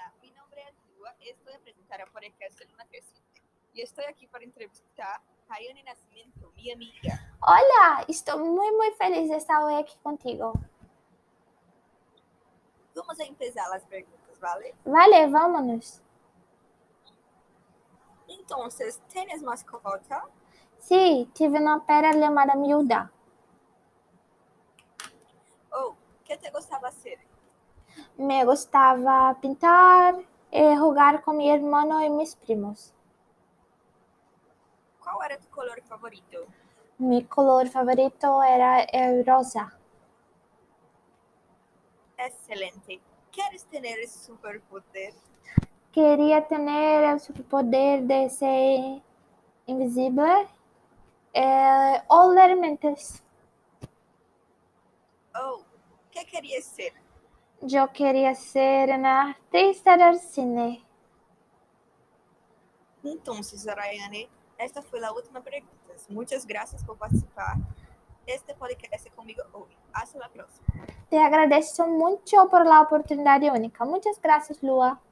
Hola, mi nombre es Lua, estoy apresentada por el Castelo Luna Crescente y estoy aquí para entrevistar a Rayane Nascimento, mi amiga. Hola, estou muito feliz de estar hoje aqui contigo. Vamos a empezar las preguntas, ¿vale? Vale, vámonos. Entonces, ¿tienes mascota? Sim, tive uma pera chamada Miúda. Oh, ¿qué te gustaba hacer? Me gostava pintar e jogar com meu irmão e meus primos. ¿Cuál era tu color favorito? Mi color favorito era el rosa. Excelente. ¿Quieres tener ese superpoder? Queria ter o superpoder de ser invisível ou ler mentes. Oh, ¿qué querías ser? Eu queria ser uma artista do cine. Entonces, Rayane, esta fue la última pregunta. Muchas gracias por participar este podcast conmigo hoy. Hasta la próxima. Te agradeço muito por la oportunidade única. Muitas graças, Lua.